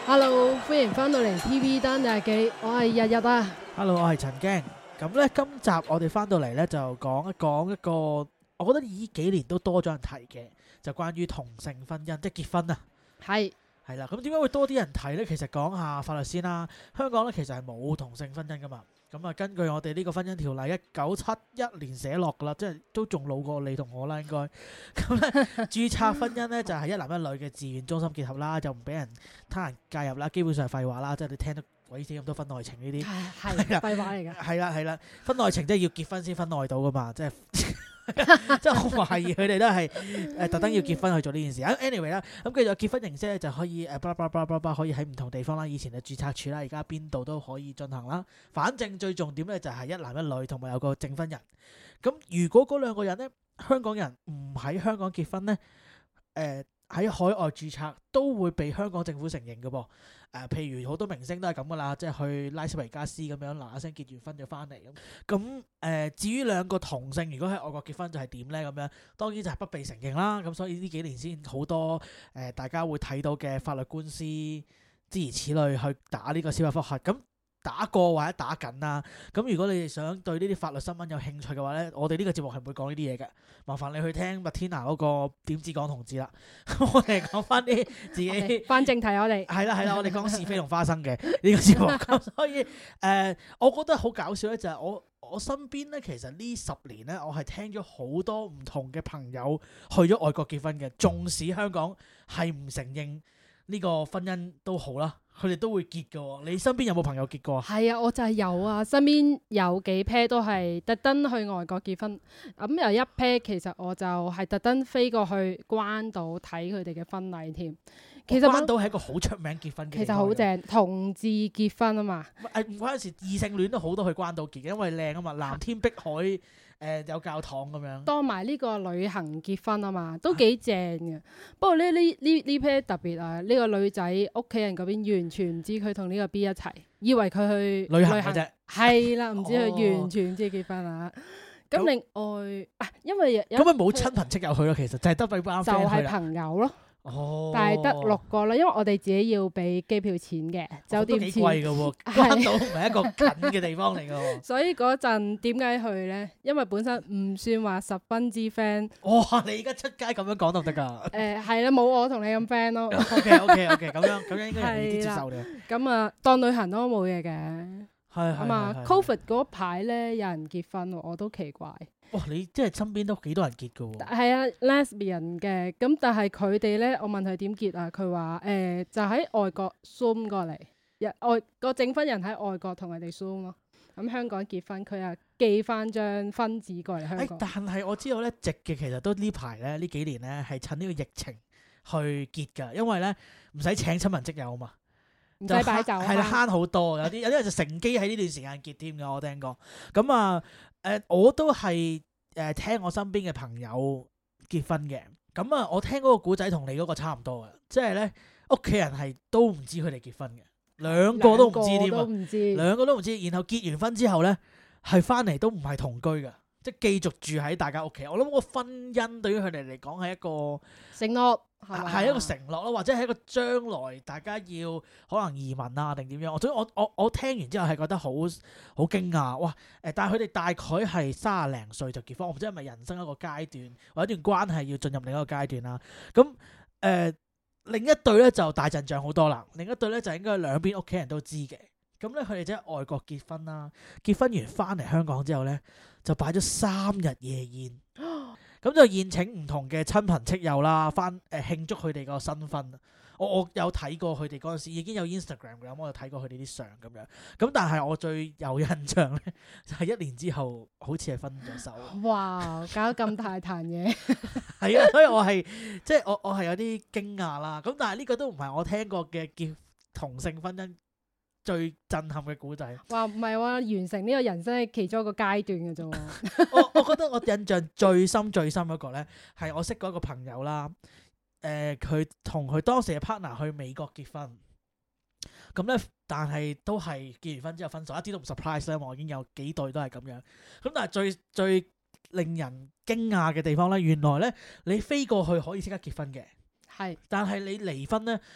Hello，歡迎翻到嚟 TV 單日記，我係日日啊。 Hello，我係陳驚。咁咧，今集我哋翻到嚟咧就講一個，我覺得呢幾年都多咗人提嘅，就關於同性婚姻，即係結婚啊。 係啦，咁點解會多啲人提咧？其實講下法律先啦。香港咧其實係冇同性婚姻噶嘛。咁啊，根據我哋呢個婚姻條例1971年寫落噶啦，即係都仲老過你同我啦，應該。咁咧，註冊婚姻咧就係一男一女嘅自願終身結合啦，就唔俾人他人介入啦，基本上係廢話啦，即係你聽到鬼死咁多婚外情呢啲。 係廢話嚟㗎。 係啦，婚外情即係要結婚先婚外到噶嘛，即係即係我懷疑佢哋都係特登要結婚去做呢件事。anyway 啦，咁繼續結婚形式咧就可以可以喺唔同地方啦，以前係註冊處啦，而家邊度都可以進行啦。反正最重點咧就係一男一女同埋有個證婚人。咁如果嗰兩個人咧，香港人唔喺香港結婚咧，喺海外註冊都會被香港政府承認嘅噃。譬如好多明星都係咁噶啦，即係去拉斯維加斯咁樣嗱聲結完婚就翻嚟咁。至於兩個同性如果喺外國結婚就係點咧咁樣，當然就係不被承認啦。咁所以呢幾年先好多大家會睇到嘅法律官司諸如此類去打呢個司法覆核咁。打過或者打緊啦，咁如果你哋想對呢啲法律新聞有興趣嘅話咧，我哋呢個節目係唔會講呢啲嘢嘅，麻煩你去聽麥天娜嗰個點止講同志啦。我哋講翻啲自己翻正題，我哋係啦，我哋講是非同花生嘅呢個節目。咁所以我覺得好搞笑咧，就係我身邊咧，其實呢10年咧，我係聽咗好多唔同嘅朋友去咗外國結婚嘅，縱使香港係唔承認呢個婚姻都好啦。佢哋都會結嘅喎，你身邊有冇朋友結過啊？ 係啊，我就係有啊，身邊有幾 pair 都係特登去外國結婚。有一 pair 其實我就係特登飛過去關島睇佢哋嘅婚禮添。其實關島係一個好出名結婚嘅地方。 其實好正，同志結婚啊嘛。 唔關事，異性戀都好多去關島結嘅，因為靚啊嘛，藍天碧海，有教堂咁樣。 當埋呢個旅行結婚啊嘛，都幾正嘅。不過呢 pair 特別啊，呢個女仔屋企人嗰邊完全唔知佢同呢個 B 一齊，以為佢去旅行嘅啫。 係啦，唔知佢完全唔知結婚啊。咁另外因為咁咪冇親朋戚友去咯，其實就係得俾班 friend 去啦。 就係朋友咯。 哦， 但係得6個啦，因為我哋自己要俾機票錢嘅，酒店錢。 都幾貴㗎喎，關島唔係一個近嘅地方嚟㗎喎。 所以嗰陣點解去咧？因為本身唔算話十分之 friend。 哇！你而家出街咁樣講都得㗎？ 係啦，冇我同你咁 friend 咯。 OK，咁樣應該容易啲接受嘅。 咁啊，當旅行都冇嘢嘅。 係。 Covid 嗰排咧，有人結婚喎，我都奇怪。 哇！你即係身邊都幾多人結㗎喎？ 係啊 lesbian 嘅，咁但係佢哋咧，我問佢點結啊？佢話就喺外國 Zoom 過嚟，個證婚人喺外國同佢哋 Zoom 咯。咁香港結婚，佢啊寄翻張婚紙過嚟香港。 但係我知道咧，直嘅其實都呢排咧呢幾年咧係趁呢個疫情去結㗎，因為咧唔使請親朋戚友啊嘛。 唔使擺酒， 係啦，慳好多。有啲人就乘機喺呢段時間結添㗎，我聽過。咁啊，我都係聽我身邊嘅朋友結婚嘅。咁啊，我聽嗰個古仔同你嗰個差唔多嘅，即係咧屋企人係都唔知佢哋結婚嘅，兩個都唔知添啊，兩個都唔知。然後結完婚之後咧，係翻嚟都唔係同居㗎。即係繼續住喺大家屋企，我諗個婚姻對於佢哋嚟講係一個承諾， 係一個承諾咯，或者係一個將來大家要可能移民啊定點樣。所以我聽完之後係覺得好驚訝，哇！但係佢哋大概係30零歲就結婚，我唔知係咪人生一個階段或者一段關係要進入另一個階段啦。咁另一對咧就大陣仗好多啦，另一對咧就應該兩邊屋企人都知嘅。咁咧佢哋即係外國結婚啦，結婚完翻嚟香港之後咧，就擺咗3日夜宴，咁就宴請唔同嘅親朋戚友啦，翻慶祝佢哋個新婚。我有睇過佢哋嗰陣時已經有 Instagram 嘅，咁我有睇過佢哋啲相咁樣。咁但係我最有印象咧，就係1年之後好似係分咗手。 哇！搞咁大壇嘢， 係啊，所以我係即係我係有啲驚訝啦。咁但係呢個都唔係我聽過嘅結同性婚姻最震撼嘅古仔。 話唔係喎，完成呢個人生係其中一個階段嘅啫喎。 我覺得我印象最深嗰個咧，係我識過一個朋友啦。佢同佢當時嘅 partner 去美國結婚，咁咧，但係都係結完婚之後分手，一啲都唔 surprise 咧，因為我已經有幾對都係咁樣。咁但係最令人驚訝嘅地方咧，原來咧你飛過去可以即刻結婚嘅， 係， 但係你離婚咧，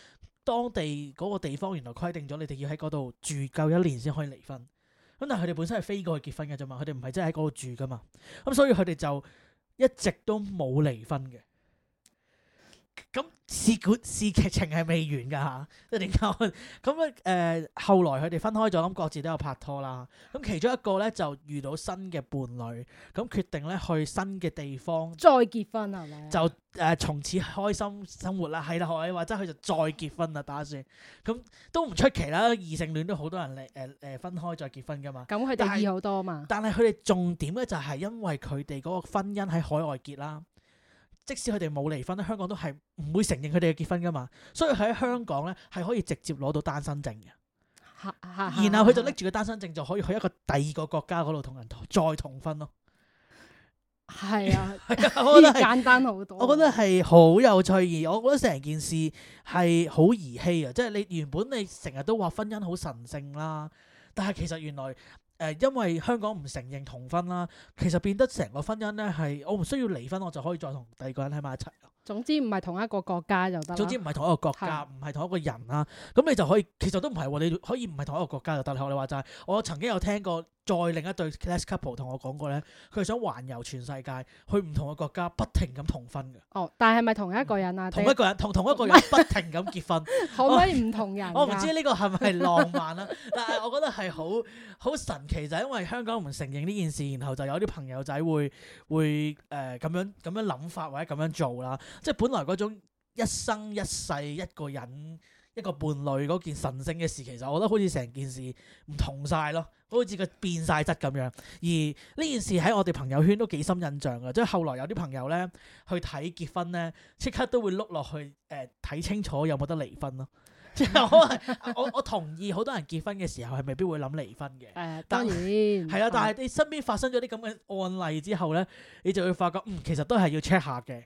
當地嗰個地方原來規定咗你哋要喺嗰度住夠1年先可以離婚。咁但係佢哋本身係飛過去結婚嘅啫嘛，佢哋唔係真係喺嗰度住噶嘛。咁所以佢哋就一直都冇離婚嘅。咁事劇情係未完㗎嚇，即係點解？咁咧後來佢哋分開咗，咁各自都有拍拖啦。咁其中一個咧就遇到新嘅伴侶，咁決定咧去新嘅地方再結婚係咪？ 就從此開心生活啦，係啦，學你話齋佢就再結婚啦，打算咁都唔出奇啦。異性戀都好多人分開再結婚㗎嘛。 咁佢哋易好多嘛。 但係佢哋重點咧就係因為佢哋嗰個婚姻喺海外結啦。即使佢哋冇離婚咧，香港都係唔會承認佢哋嘅結婚噶嘛，所以喺香港咧係可以直接攞到單身證嘅。然後佢就拎住個單身證就可以去一個第二個國家嗰度同人再同婚咯。 係啊， 我覺得簡單好多。 我覺得係好有趣，而我覺得成件事係好兒戲啊！即係你原本你成日都話婚姻好神聖啦，但係其實原來因為香港唔承認同婚啦，其實變得成個婚姻咧係我唔需要離婚，我就可以再同第二個人喺埋一齊。 總之唔係同一個國家就得。 總之唔係同一個國家，唔係同一個人啦。咁你就可以，其實都唔係喎，你可以唔係同一個國家就得。學你話齋，我曾經有聽過再另一對 less couple 同我講過咧，佢係想環遊全世界，去唔同嘅國家不停咁同婚嘅。 哦，但係咪同一個人啊？ 同一個人同一個人不停咁結婚， 可唔可以唔同人？ 我唔知呢個係咪浪漫啦，但係我覺得係好神奇，就係因為香港唔承認呢件事，然後就有啲朋友仔會咁樣諗法或者咁樣做啦。即係本來嗰種一生一世一個人一個伴侶嗰件神聖嘅事，其實我覺得好似成件事唔同晒咯，好似佢變晒質咁樣。而呢件事喺我哋朋友圈都幾深印象嘅，即係後來有啲朋友咧去睇結婚咧，即刻都會碌落去睇清楚有冇得離婚咯。即係我同意好多人結婚嘅時候係未必會諗離婚嘅。 當然係啊，但係你身邊發生咗啲咁嘅案例之後咧，你就會發覺其實都係要 check 下嘅。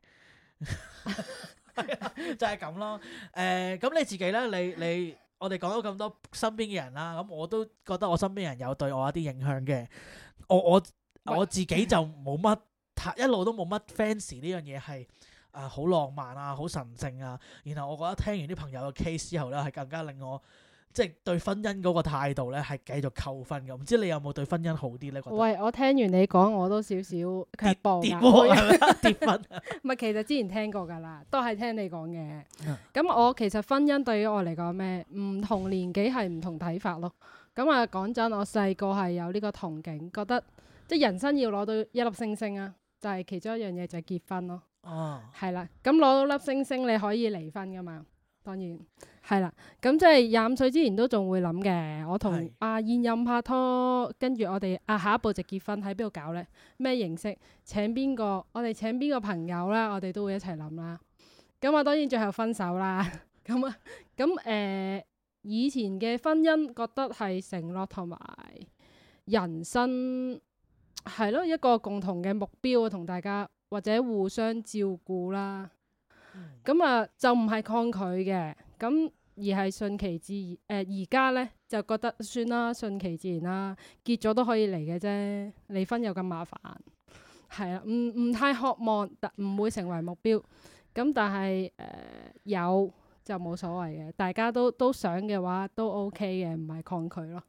就係咁咯。咁你自己咧，你我哋講咗咁多身邊嘅人啦，咁我都覺得我身邊人有對我有啲影響嘅。我自己就冇乜一路都冇乜 fans 呢樣嘢係。好浪漫啊，好神聖啊，然後我覺得聽完啲朋友嘅 case 之後咧，係更加令我即係對婚姻嗰個態度咧係繼續扣分嘅。唔知你有冇對婚姻好啲咧？ 喂，我聽完你講，我都少少卻步跌分。 唔係，其實之前聽過㗎啦，都係聽你講嘅。咁我其實婚姻對於我嚟講咩？唔同年紀係唔同睇法咯。咁啊，講真，我細個係有呢個憧憬，覺得即係人生要攞到一粒星星啊，就係其中一樣嘢就係結婚咯。係啦，咁攞到粒星星你可以離婚噶嘛？當然係啦，咁即係25歲之前都仲會諗嘅。我同現任拍拖，跟住我哋下一步就結婚，喺邊度搞呢？咩形式？請邊個？我哋請邊個朋友啦？我哋都會一齊諗啦。咁我當然最後分手啦。咁以前嘅婚姻覺得係承諾同埋人生係咯，一個共同嘅目標同大家。或者互相照顧啦，咁就唔係抗拒嘅，咁而係順其自然。而家咧就覺得算啦，順其自然啦，結咗都可以嚟嘅啫，離婚又咁麻煩，係啊，唔太渴望，唔會成為目標。咁但係有就冇所謂嘅，大家都想嘅話都 OK 嘅，唔係抗拒咯。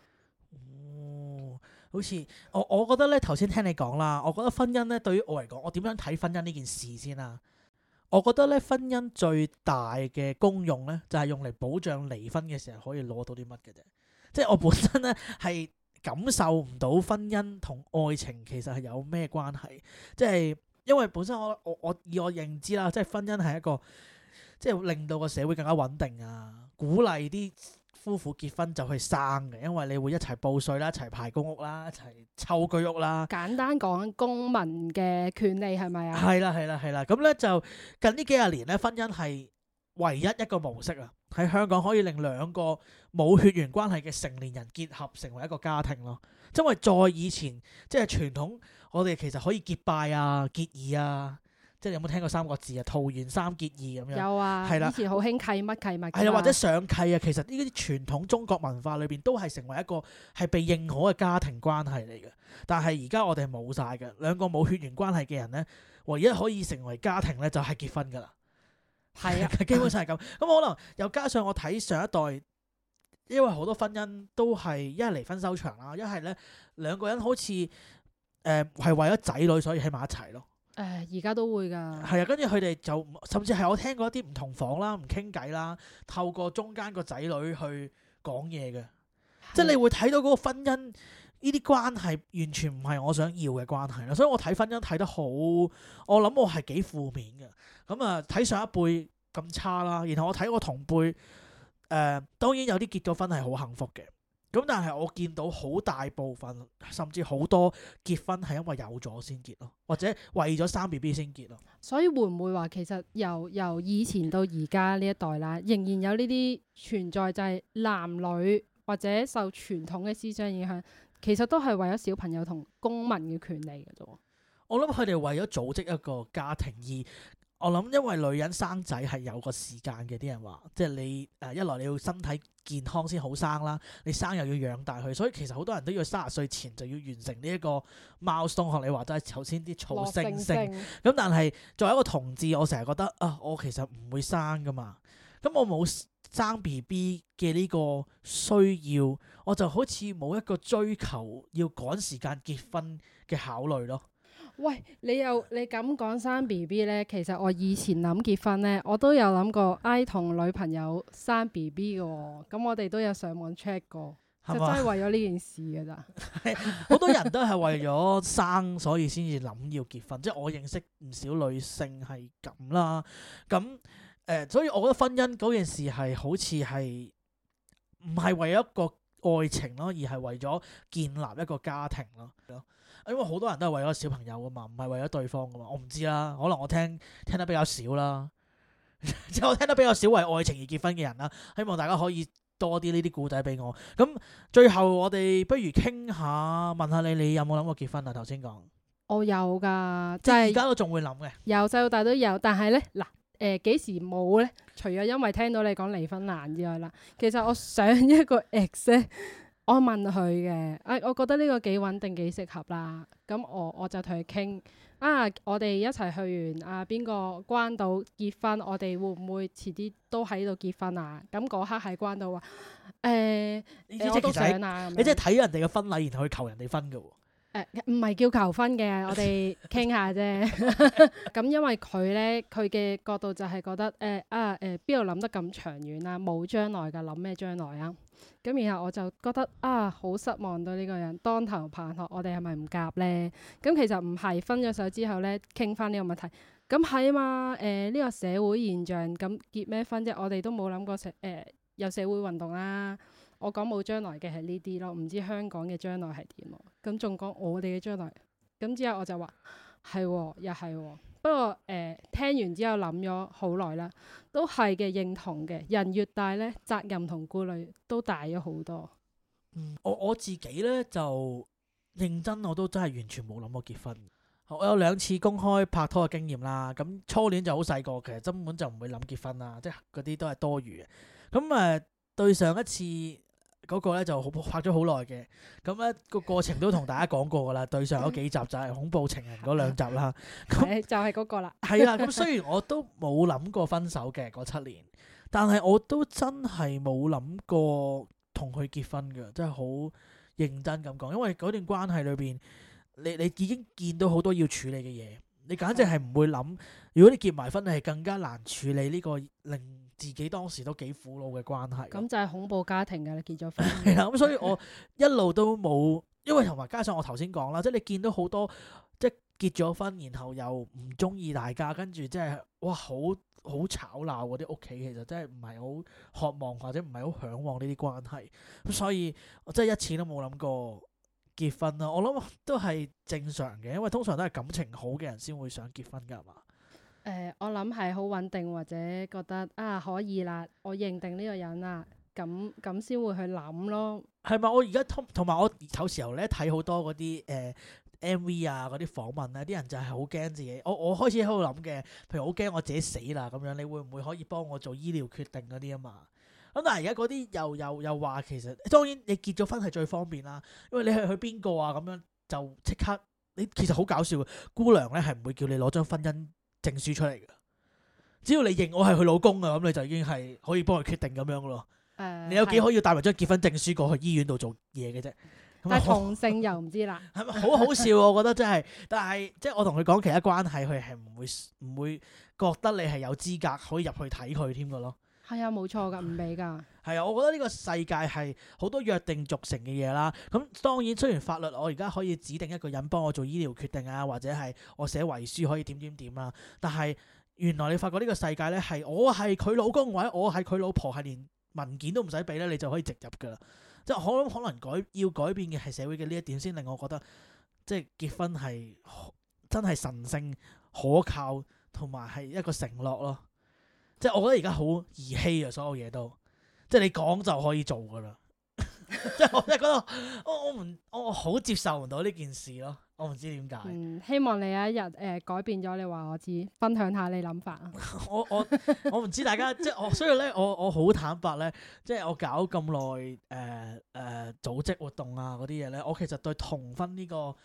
好似我覺得咧，頭先聽你講啦，我覺得婚姻咧對於我嚟講，我點樣睇婚姻呢件事先啊？我覺得咧婚姻最大嘅功用咧，就係用嚟保障離婚嘅時候可以攞到啲乜嘅啫。即係我本身咧係感受唔到婚姻同愛情其實係有咩關係。即係因為本身我以我認知啦，即係婚姻係一個即係令到個社會更加穩定啊，鼓勵啲夫婦結婚就去生嘅，因為你會一齊報稅啦，一齊排公屋啦，一齊湊居屋啦。 簡單講，公民嘅權利係咪啊？ 係啦。咁咧就近呢幾廿年咧，婚姻係唯一一個模式啊，喺香港可以令兩個冇血緣關係嘅成年人結合成為一個家庭咯。因為在以前即係傳統，我哋其實可以結拜啊、結義啊。即係你有冇聽過三個字啊？桃園三結義咁樣。 有啊，係啦，以前好興契乜契物。 係啊，或者上契啊，其實呢啲傳統中國文化裏邊都係成為一個係被認可嘅家庭關係嚟嘅。但係而家我哋係冇晒嘅，兩個冇血緣關係嘅人咧，唯一可以成為家庭咧就係結婚㗎啦。 係啊， 基本上係咁。咁可能又加上我睇上一代，因為好多婚姻都係一係離婚收場啦，一係咧兩個人好似係為咗仔女所以喺埋一齊咯。 而家都會㗎。 係啊，跟住佢哋就甚至係我聽過一啲唔同房啦，唔傾偈啦，透過中間個仔女去講嘢嘅，即係你會睇到嗰個婚姻呢啲關係完全唔係我想要嘅關係啦。所以我睇婚姻睇得好，我諗我係幾負面嘅。咁啊睇上一輩咁差啦，然後我睇我同輩當然有啲結咗婚係好幸福嘅。咁但係我見到好大部分甚至好多結婚係因為有咗先結咯，或者為咗生 BB 先結咯。 所以會唔會話其實由以前到而家呢一代啦，仍然有呢啲存在，就係男女或者受傳統嘅思想影響，其實都係為咗小朋友同公民嘅權利嘅啫。 我諗佢哋為咗組織一個家庭，而我諗因為女人生仔係有個時間嘅，啲人話即係你一來你要身體健康先好生啦，你生又要養大佢，所以其實好多人都要30歲前就要完成呢一個 milestone。學你話齋頭先啲草星星咁，但係作為一個同志，我成日覺得我其實唔會生噶嘛，咁我冇生 BB 嘅呢個需要，我就好似冇一個追求要趕時間結婚嘅考慮咯。 喂，你咁講生 BB 咧，其實我以前諗結婚咧，我都有諗過同女朋友生 BB 嘅喎，咁我哋都有上網 check 過，就真係為咗呢件事嘅咋。 好多人都係為咗生，所以先至諗要結婚，即係我認識唔少女性係咁啦。咁所以我覺得婚姻嗰件事係好似係唔係為咗一個愛情咯，而係為咗建立一個家庭咯。因為好多人都係為咗小朋友噶嘛，唔係為咗對方噶嘛。我唔知啦，可能我聽得比較少啦，即係我聽得比較少為愛情而結婚嘅人啦。希望大家可以多啲呢啲故仔俾我。咁最後我哋不如傾下，問下你有冇諗過結婚啊？頭先講我有㗎， 即係而家都仲會諗嘅。 由細到大都有，但係咧嗱幾時冇咧？除咗因為聽到你講離婚難之外啦，其實我上一個 ex 咧。我問佢嘅，我覺得呢個幾穩定幾適合啦。咁我就同佢傾我哋一齊去完邊個關島結婚，我哋會唔會遲啲都喺度結婚啊？咁嗰刻喺關島話我都想啊。 你即係睇人哋嘅婚禮，然後去求人哋婚㗎喎。 唔係叫求婚嘅，我哋傾下啫。咁因為佢嘅角度就係覺得邊度諗得咁長遠啊，冇將來㗎，諗咩將來啊？咁然後我就覺得好失望對呢個人，當頭棒喝，我哋係咪唔夾呢？咁其實唔係，分咗手之後呢，傾翻呢個問題。咁係啊嘛，呢個社會現象，咁結咩婚啫？我哋都冇諗過有社會運動啦。我講冇將來嘅係呢啲咯，唔知香港嘅將來係點喎？咁仲講我哋嘅將來，咁之後我就話係喎，又係喎。不過聽完之後諗咗好耐啦，都係嘅，認同嘅。人越大咧，責任同顧慮都大咗好多。 我自己咧就認真，我都真係完全冇諗過結婚。我有2次公開拍拖嘅經驗啦，咁初戀就好細個，其實根本就唔會諗結婚啦，即係嗰啲都係多餘嘅。咁對上一次嗰個咧就拍咗好耐嘅，咁咧個過程都同大家講過噶啦。對上嗰幾集就係恐怖情人嗰2集啦。咁就係嗰個啦。 係啦，咁雖然我都冇諗過分手嘅嗰7年，但係我都真係冇諗過同佢結婚嘅，真係好認真咁講。因為嗰段關係裏邊，你已經見到好多要處理嘅嘢，你簡直係唔會諗，如果你結埋婚，你係更加難處理呢個令自己當時都幾苦惱嘅關係。 咁就係恐怖家庭㗎，你結咗婚。 係啦，咁所以我一路都冇，因為同埋加上我頭先講啦，即係你見到好多即係結咗婚，然後又唔中意大家，跟住即係哇好吵鬧嗰啲屋企，其實真係唔係好渴望或者唔係好嚮往呢啲關係。咁所以我真係一次都冇諗過結婚啦。我諗都係正常嘅，因為通常都係感情好嘅人先會想結婚㗎嘛。 我諗係好穩定，或者覺得可以啦，我認定呢個人啦，咁先會去諗咯。 係咪？我而家同埋我有時候咧睇好多嗰啲MV 啊嗰啲訪問咧，啲人就係好驚自己。我開始喺度諗嘅，譬如好驚我自己死啦咁樣，你會唔會可以幫我做醫療決定嗰啲啊嘛？咁但係而家嗰啲又話其實當然你結咗婚係最方便啦，因為你係去邊個啊咁樣就即刻你其實好搞笑嘅，姑娘咧係唔會叫你攞張婚姻證書出嚟嘅， 只要你認我係佢老公啊，咁你就已經係可以幫佢決定咁樣噶咯。你有幾可以帶埋張結婚證書過去醫院度做嘢嘅啫？ 但係同性又唔知啦， 係咪好好笑？我覺得真係，但係即係我同佢講其他關係，佢係唔會覺得你係有資格可以入去睇佢添㗎咯。 係啊，冇錯㗎，唔俾㗎。 係啊，我覺得呢個世界係好多約定俗成嘅嘢啦。咁當然雖然法律我而家可以指定一個人幫我做醫療決定啊，或者係我寫遺書可以點點點啦，但係原來你發覺呢個世界咧係我係佢老公或者我係佢老婆，係連文件都唔使俾咧，你就可以直入㗎啦。即係可能要改變嘅係社會嘅呢一點，先令我覺得即係結婚係真係神聖可靠，同埋係一個承諾咯。即係我覺得而家好兒戲啊，所有嘢都即係你講就可以做㗎啦。即係我真係覺得我好接受唔到呢件事咯。我唔知點解。 希望你有一日改變咗，你話我知，分享下你諗法啊。 我唔知大家即係所以咧，我好坦白咧，即係我搞咁耐組織活動啊嗰啲嘢咧，我其實對同婚呢個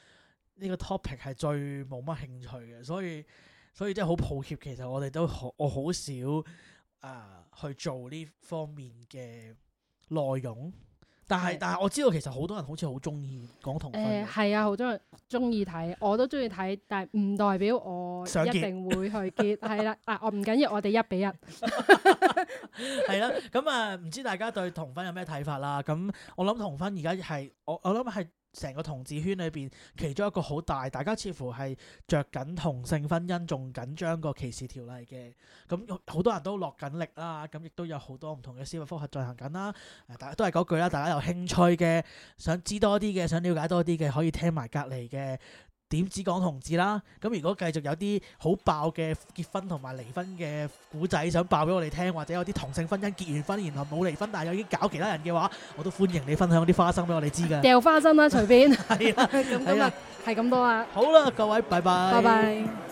topic 係最冇乜興趣嘅，所以即係好抱歉，其實我哋都我好少去做呢方面嘅內容。但係我知道其實好多人好似好中意講同婚。 係啊，好多人中意睇，我都中意睇，但係唔代表我一定會去結。係啦，我唔緊要，我哋1比1。 係啦，咁唔知大家對同婚有咩睇法啦？咁我諗同婚而家係我諗係成個同志圈裏邊其中一個好大，大家似乎係着緊同性婚姻，仲緊張過歧視條例嘅。咁好多人都落緊力啦，咁亦都有好多唔同嘅司法覆核進行緊啦。大家都係嗰句啦，大家有興趣嘅，想知多啲嘅，想了解多啲嘅，可以聽埋隔離嘅點止講同志啦。咁如果繼續有啲好爆嘅結婚同埋離婚嘅古仔想爆俾我哋聽，或者有啲同性婚姻結完婚然後冇離婚但係又已經搞其他人嘅話，我都歡迎你分享啲花生俾我哋知㗎。 掉花生啦，隨便。 係啦， 咁今日係咁多啦。 好啦，各位，拜拜。 拜拜。